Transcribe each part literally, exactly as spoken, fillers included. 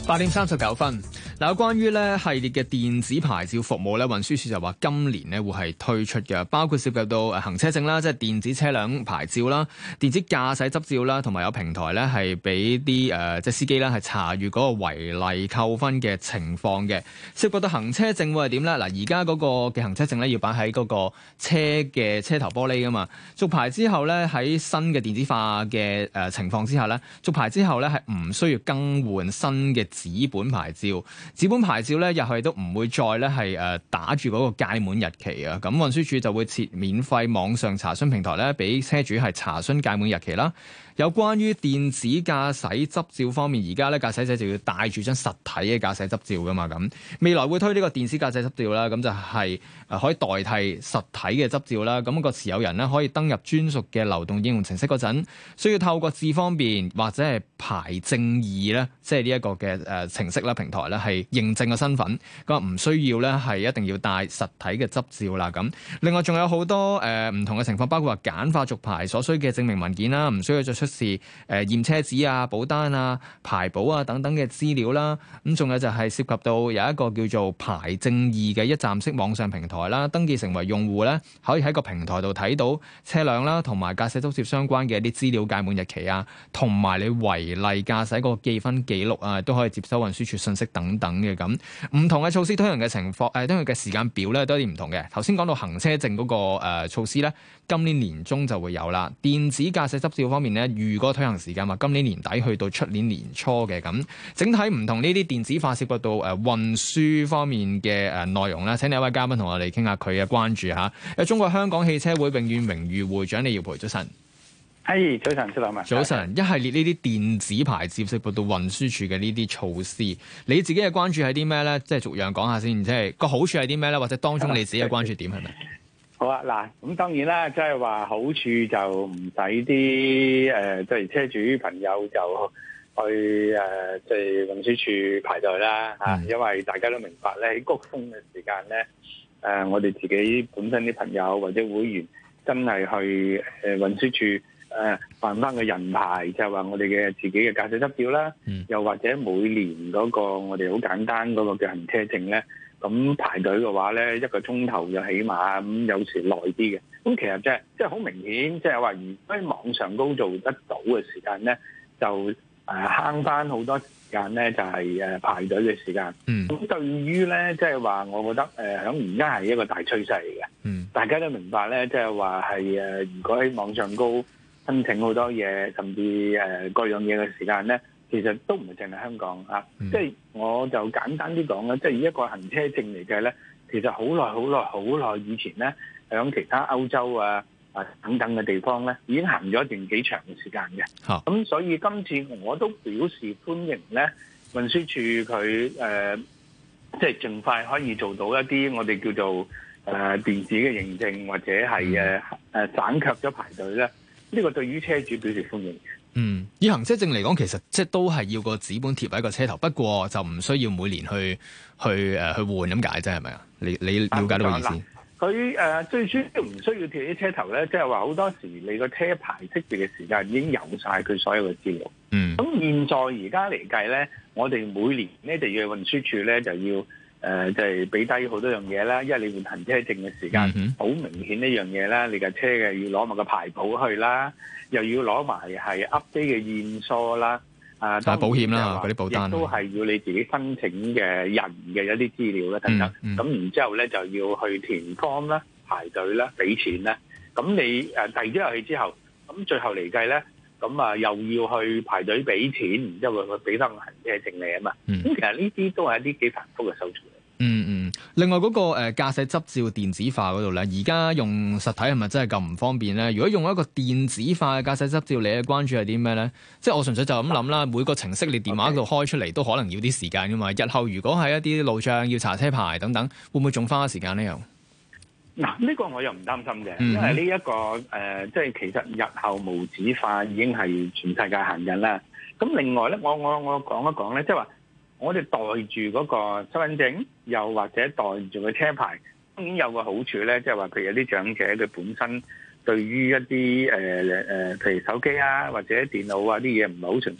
八點三十九分，嗱，有關於咧系列嘅電子牌照服務咧，運輸署就話今年咧會係推出嘅，包括涉及到誒行車證啦，即係電子車輛牌照啦、電子駕駛執照啦，同埋有平台咧係俾啲誒即係司機咧係查閲嗰個違例扣分嘅情況嘅。涉及到行車證會係點咧？嗱，而家嗰個嘅行車證咧要擺喺嗰個車嘅車頭玻璃噶嘛，續牌之後咧喺新嘅電子化嘅誒情況之下咧，續牌之後咧係唔需要更換新嘅紙本牌照，紙本牌照咧入去都唔會再咧係誒打住嗰個屆滿日期啊！咁運輸署就會設免費網上查詢平台咧，俾車主係查詢屆滿日期啦。有關於電子駕駛執照方面，而家咧駕駛者就要帶住張實體嘅駕駛執照噶嘛，咁未來會推呢個電子駕駛執照啦，咁就係誒可以代替實體嘅執照啦。咁個持有人咧可以登入專屬嘅流動應用程式嗰陣，需要透過智方便或者係牌證二咧，即係呢一個嘅誒程式啦平台咧係認證嘅身份，咁唔需要咧係一定要帶實體嘅執照啦。咁另外仲有好多誒唔同嘅情況，包括話簡化續牌所需嘅證明文件啦，唔需要再出示誒驗車紙啊、保單啊、排保啊等等嘅資料啦。咁仲有就係涉及到有一個叫做牌證二嘅一站式網上平台啦，登記成為用戶咧，可以喺個平台度睇到車輛啦同埋駕駛執照相關嘅一啲資料、屆滿日期啊，同埋你違例駕駛個記分記錄啊，都可以接收運輸署信息等等嘅。咁唔同嘅措施推行嘅情況誒，推行嘅時間表咧都有啲唔同嘅。頭先講到行車證嗰個誒措施咧，今年年中就會有啦。電子駕駛執照方面咧，預個推行時間話今年年底去到出年年初嘅。咁整體唔同呢啲電子化涉及到誒運輸方面嘅誒內容啦。請另一位嘉賓同我哋傾下佢嘅關注嚇。有中國香港汽車會永遠榮譽會長李耀培，早晨。 係，早晨，小林啊。 早晨，一系列呢啲電子牌照涉及到運輸署嘅呢啲措施，你自己嘅關注係啲咩咧？即係逐樣講下先，即係個好處係啲咩咧？或者當中你自己嘅關注點係咪？ 好啊，嗱，咁當然啦，即係話好處就唔使啲誒，即係車主朋友就去誒，即係運輸署排隊啦嚇，嗯、因為大家都明白咧，喺高峰嘅時間咧，誒、呃，我哋自己本身啲朋友或者會員真係去誒運輸署。誒辦翻個人牌，就係話我哋嘅自己嘅駕駛執照啦，嗯、又或者每年嗰個我哋好簡單嗰個嘅行車證咧，咁排隊嘅話咧，一個鐘頭就起碼，咁有時耐啲嘅。咁其實即係即係好明顯，即係話如果喺網上高做得到嘅時間咧，就誒慳翻好多時間咧，就係誒排隊嘅時間。咁、嗯、對於咧，即係話我覺得誒響而家係一個大趨勢嚟嘅。嗯、大家都明白咧，即係話係誒，如果喺網上高申請好多嘢，甚至誒、呃、各樣嘢嘅時間咧，其實都唔係淨係香港啊。嗯、即係我就簡單啲講啦，即係以一個行車證嚟計咧，其實好耐好耐好耐以前咧，響其他歐洲啊啊等等嘅地方咧，已經行咗一段幾長嘅時間嘅。咁、嗯、所以今次我都表示歡迎咧，運輸署佢誒即係盡快可以做到一啲我哋叫做誒、呃、電子嘅認證，或者係誒誒省卻咗排隊咧。呢個對於車主表示歡迎。 嗯，以行車證嚟講，其實即係都係要個紙本貼喺個車頭，不過就唔需要每年去去誒、呃、去換咁解啫，係咪啊？你你了解到個意思？ 佢誒、呃、最主要唔需要貼喺車頭咧，即係話好多時你個車牌識別嘅時間已經有晒佢所有嘅資料。嗯。咁現在而家嚟計咧，我哋每年咧就要運輸署咧就要。誒、呃、就係俾低好多樣嘢啦，因為你換行車證嘅時間好、嗯、明顯一樣嘢啦，你架車嘅要攞埋個牌簿去啦，又要攞埋係 update 嘅驗疏啦，啊， 保險啦嗰啲保單， 亦都係要你自己申請嘅人嘅一啲資料啦等等，咁、嗯嗯、然之後咧就要去填 form 啦、排隊啦、俾錢啦，咁你誒遞咗入去之後，咁最後嚟計咧。咁啊，又要去排隊俾錢，然之後佢俾翻個行車證你啊嘛。咁、嗯、其實呢啲都係一啲幾繁複嘅手續。 嗯嗯。另外嗰、那個誒、呃、駕駛執照電子化嗰度咧，而家用實體係咪真係咁唔方便咧？如果用一個電子化嘅駕駛執照，你嘅關注係啲咩咧？即係我純粹就咁諗啦。每個程式你電話度開出嚟都可能要啲時間噶嘛。日後如果係一啲路障要查車牌等等，會唔會仲花時間咧？又？ 嗱，呢個我又唔擔心嘅，因為呢、這、一個誒，即、呃、係其實日後無紙化已經係全世界行緊啦。咁另外咧，我我我講一講咧，即係話我哋袋住嗰個身份證，又或者袋住個車牌，當然有個好處咧，即係話譬如有啲長者佢本身對於一啲誒誒，譬如手機啊或者電腦啊啲嘢唔係好純熟，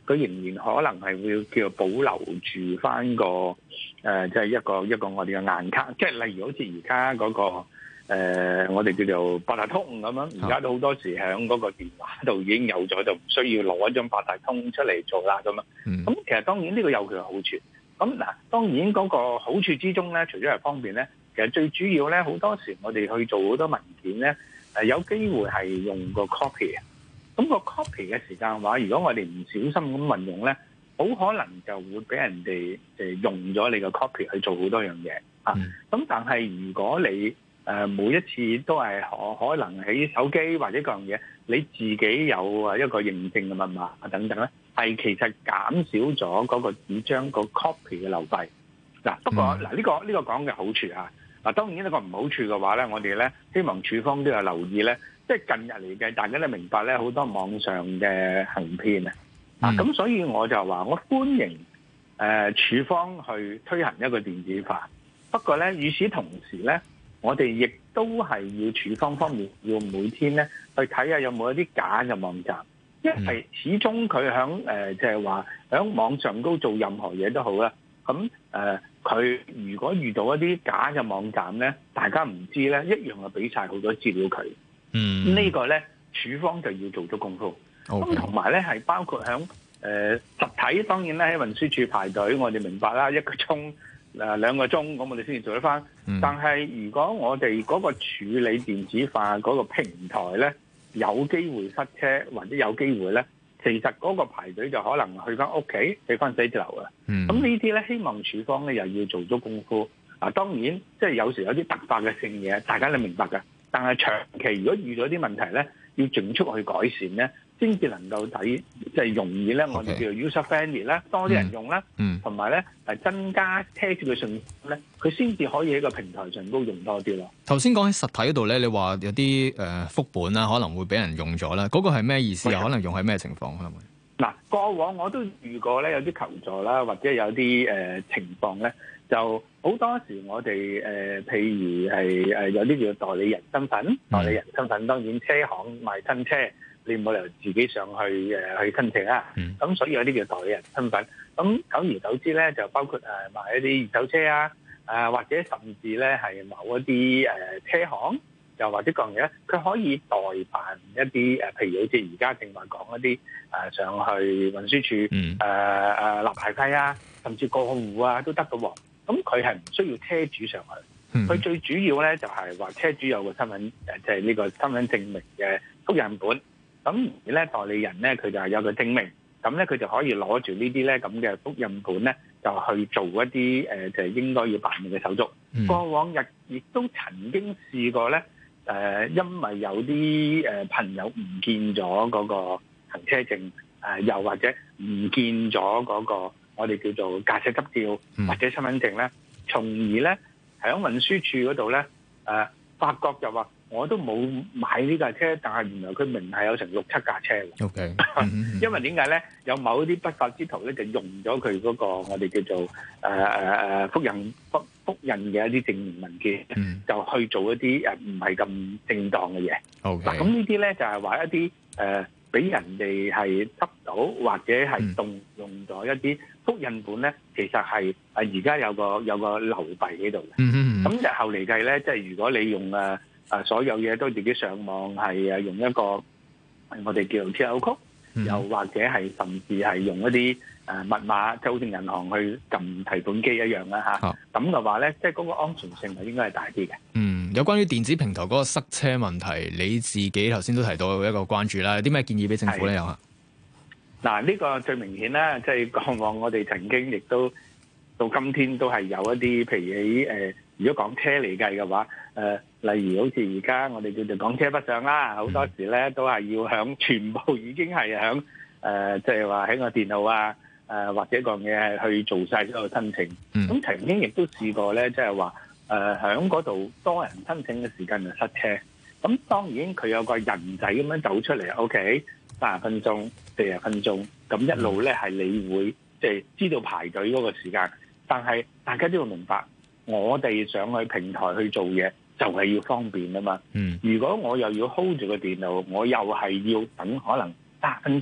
佢仍然可能係會叫做保留住翻個誒，即係一個一個我哋嘅硬卡，即係例如好似而家嗰個。誒、呃，我哋叫做八達通咁樣，而家都好多時喺嗰個電話度已經有咗，就唔需要攞一張八達通出嚟做啦咁樣。咁、嗯、其實當然呢個有佢嘅好處。咁嗱，當然嗰個好處之中咧，除咗係方便咧，其實最主要咧，好多時我哋去做好多文件咧，誒有機會係用個 copy 嘅。咁個 copy 嘅時間嘅話，如果我哋唔小心咁運用咧，好可能就會俾人哋誒用咗你個 copy 去做好多樣嘢啊。咁、嗯、但係如果你誒每一次都係可可能喺手機或者各樣嘢，你自己有啊一個認證嘅密碼啊等等咧，係其實減少咗嗰個紙張個 copy 嘅流費。嗱，不過嗱呢個呢個講嘅好處啊，嗱當然呢個唔好處嘅話咧，我哋咧希望處方都有留意咧，即係近日嚟嘅，大家都明白咧，好多網上嘅行騙啊，啊咁所以我就話我歡迎誒處方去推行一個電子化，不過咧與此同時咧。我哋亦都係要處方方面要每天咧去睇下有冇一啲假嘅網站，因為始終佢響誒即係話響網上高做任何嘢都好啦。咁誒佢如果遇到一啲假嘅網站咧，大家唔知咧，一樣係俾晒好多資料佢。嗯，這個、呢個咧處方就要做足功夫。咁同埋咧係包括響誒、呃、實體，當然咧喺運輸署排隊，我哋明白啦，一個鐘。誒兩個鐘，咁我哋先至做得翻。嗯、但係如果我哋嗰個處理電子化嗰個平台咧，有機會塞車或者有機會咧，其實嗰個排隊就可能去翻屋企，去翻寫字樓啊。咁、嗯、呢啲咧，希望處方咧又要做足功夫。啊，當然即係有時有啲突發嘅性嘢，大家都明白㗎。但係長期如果遇到啲問題咧，要盡速去改善咧。先至能夠睇，即係容易咧，我哋叫做 user friendly 啦，多啲人用啦，同埋咧係增加車主嘅信心咧，佢先至可以喺個平台上高用多啲咯。 頭先講喺實體嗰度咧，你話有啲誒副本啦，可能會俾人用咗啦，嗰、那個係咩意思啊？可能用喺咩情況可能會？ 嗱，過往我都遇過咧，有啲求助啦，或者有啲誒、呃、情況咧，就好多時我哋誒、呃，譬如係誒有啲叫代理人身份，嗯、代理人身份當然車行賣新車。你冇理由自己上去誒去申請啊！咁、嗯、所以有啲叫代理人身份。咁久而久之咧，就包括誒賣一啲二手車啊，誒或者甚至咧係某一啲誒車行，又或者各樣嘢咧，佢可以代辦一啲誒，譬如好似而家正話講一啲誒上去運輸署誒誒立牌費啊，甚至過戶啊都得嘅喎。咁佢係唔需要車主上去，佢、嗯、最主要咧就係話車主有個身份誒，即係呢個身份證明嘅複印本。咁而咧代理人咧，佢就係有個證明，咁咧佢就可以攞住呢啲咧咁嘅複印本咧，就去做一啲誒、呃、就係應該要辦理嘅手續。嗯、過往日亦都曾經試過咧，誒、呃，因為有啲誒朋友唔見咗嗰個行車證，誒、呃、又或者唔見咗嗰個我哋叫做駕駛執照或者身份證咧，從而咧喺運輸處嗰度咧，誒、呃、發覺就話。我都冇買呢架車，但係原來佢明係有成六七架車嘅。OK， 因為點解咧？有某啲不法之徒咧，就用咗佢嗰個我哋叫做誒誒誒複印複複印嘅一啲證明文件，嗯、就去做一啲誒唔係咁正當嘅嘢。OK，嗱咁呢啲咧就係話一啲誒俾人哋係執到或者係動用咗一啲複印本咧，其實係誒而家有個有個流弊喺度嘅。咁日後嚟計咧，即係如果你用誒。啊！所有嘢都自己上網係啊，用一個我哋叫做 Q R code，嗯、又或者係甚至係用一啲誒密碼，就好似銀行去撳提款機一樣啦嚇。咁嘅話咧，即係嗰個安全性係應該係大啲嘅。嗯，有關於電子平台嗰個塞車問題，你自己頭先都提到一個關注啦，有啲咩建議俾政府咧？有啊？嗱，呢個最明顯啦，即係過往我哋曾經亦都到今天都係有一啲，譬如喺誒、呃，如果講車嚟計嘅話，誒、呃。例如好似而家我哋叫做港車北上啦，好多時咧都係要響全部已經係響誒，即係話喺個電腦啊，誒、呃、或者個嘢去做晒所有申請。咁、嗯、曾經亦都試過咧，即係話誒響嗰度多人申請嘅時間就塞車。咁當然佢有個人仔咁樣走出嚟 ，OK， 三十分鐘、四十分鐘，咁一路咧係你會即係、就是、知道排隊嗰個時間。但係大家都要明白，我哋上去平台去做嘢。就係要方便啊嘛！嗯、如果我又要 hold 住個電腦，我又係要等可能三十分鐘、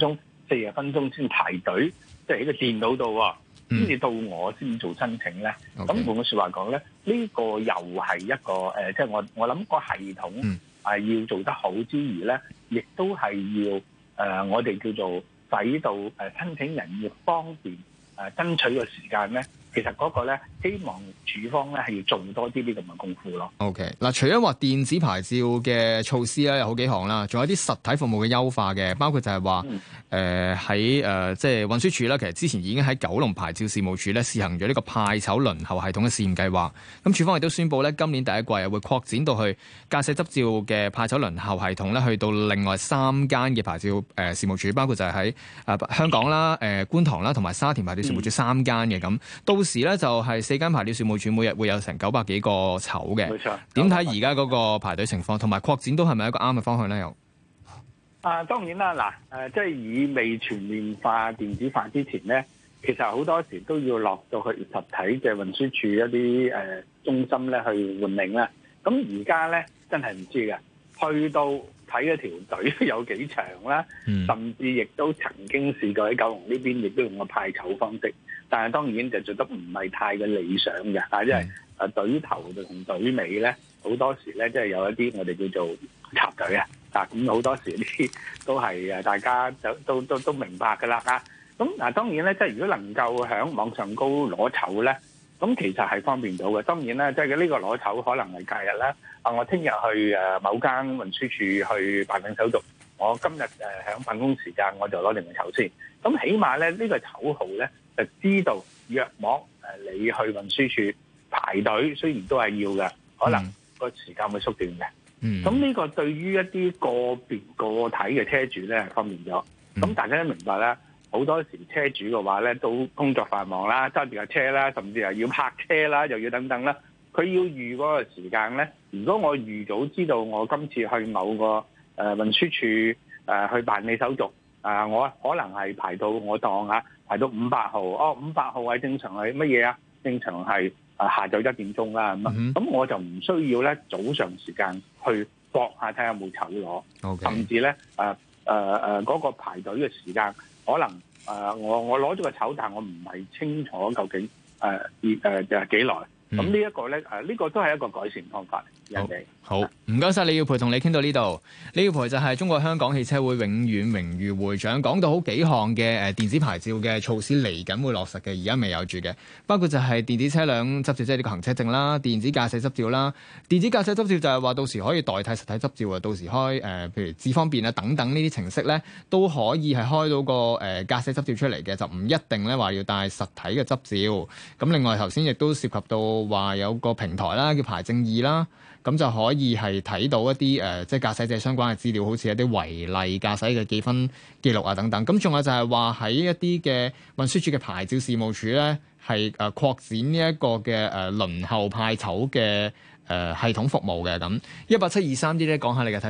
四十分鐘先排隊，即係喺個電腦度喎，先至到我先做申請咧。咁換句説話講咧，呢、這個又係一個誒、呃，即係我我諗個系統係、呃、要做得好之餘咧，亦都係要誒、呃、我哋叫做使到誒申請人要方便誒、呃、爭取嘅時間咧。其實嗰個咧，希望處方咧係要做多啲啲咁嘅功夫咯。 OK，嗱，除咗話電子牌照嘅措施咧，有好幾項啦，仲有啲實體服務嘅優化嘅，包括就係話誒喺誒即係運輸署啦，其實之前已經喺九龍牌照事務處咧試行咗呢個派籌輪候系統嘅試驗計劃。咁處方亦都宣布咧，今年第一季啊會擴展到去駕駛執照嘅派籌輪候系統咧，去到另外三間嘅牌照誒、呃、事務處，包括就係喺誒香港啦、誒、呃、觀塘啦同埋沙田牌照事務處三間嘅咁。到時咧就係四間牌照事務處每日會有成九百幾個籌嘅。 冇錯。 點睇而家嗰個排隊情況，同埋擴展都係咪一個啱嘅方向咧？又啊，當然啦，嗱，誒，即係以未全面化、電子化之前咧，其實好多時都要落到去實體嘅運輸處一啲誒、呃、中心咧去換領啦。咁而家咧真係唔知嘅，去到睇一條隊都有幾長啦，嗯、甚至亦都曾經試過喺九龍呢邊亦都用個派籌方式。但係當然就做得唔係太嘅理想嘅，啊，因為誒隊頭同隊尾咧，好多時咧即係有一啲我哋叫做插隊啊，啊咁好多時呢啲都係誒大家就都都都明白㗎啦，啊咁嗱當然咧，即係如果能夠喺網上高攞籌咧，咁其實係方便到嘅。當然咧，即係呢個攞籌可能係假日啦，啊我聽日去誒某間運輸處去辦理手續，我今日誒喺辦公時間我就攞定個籌先，咁起碼咧呢個籌號咧。就知道約莫誒，你去運輸處排隊，雖然都係要嘅，可能個時間會縮短嘅。咁呢、嗯、個對於一啲個別個體嘅車主咧係方便咗。咁、嗯、大家都明白啦，好多時車主嘅話咧都工作繁忙啦，揸住架車啦，甚至係要泊車啦，又要等等啦。佢要預嗰個時間咧，如果我預早知道我今次去某個誒、呃、運輸處誒、呃、去辦理手續，啊、呃，我可能係排到我當啊。排到五百號，哦，五百號係正常係乜嘢啊？正常係啊下晝一點鐘啦，咁啊、mm，咁、hmm. 我就唔需要咧早上時間去搏下睇下有冇籌攞，Okay. 甚至咧誒誒誒嗰個排隊嘅時間，可能誒、呃、我我攞咗個籌，但係我唔係清楚究竟誒誒誒幾耐。咁呢一個咧，誒、這、呢個都係一個改善方法。人哋好，唔該晒李耀培，同你傾到呢度。李耀培就係中國香港汽車會永遠榮譽會長，講到好幾項嘅誒電子牌照嘅措施嚟緊會落實嘅，而家未有住嘅，包括就係電子車輛執照，即係呢個行車證啦，電子駕駛執照啦，電子駕駛執照就係話到時可以代替實體執照啊，到時開誒、呃、譬如智方便啊等等呢啲程式咧，都可以係開到個誒駕駛執照出嚟嘅，就唔一定咧話要帶實體嘅執照。咁另外頭先亦都涉及到話有個平台啦，叫牌證二啦。咁就可以係睇到一啲誒、呃，即係駕駛者相關嘅資料，好似一啲違例駕駛嘅記分記錄啊等等。咁仲有就係話喺一啲嘅運輸署嘅牌照事務處咧，係誒、呃、擴展呢一個嘅誒、呃、輪候派籌嘅誒系統服務嘅咁。一八七二三啲咧，講下你嘅睇。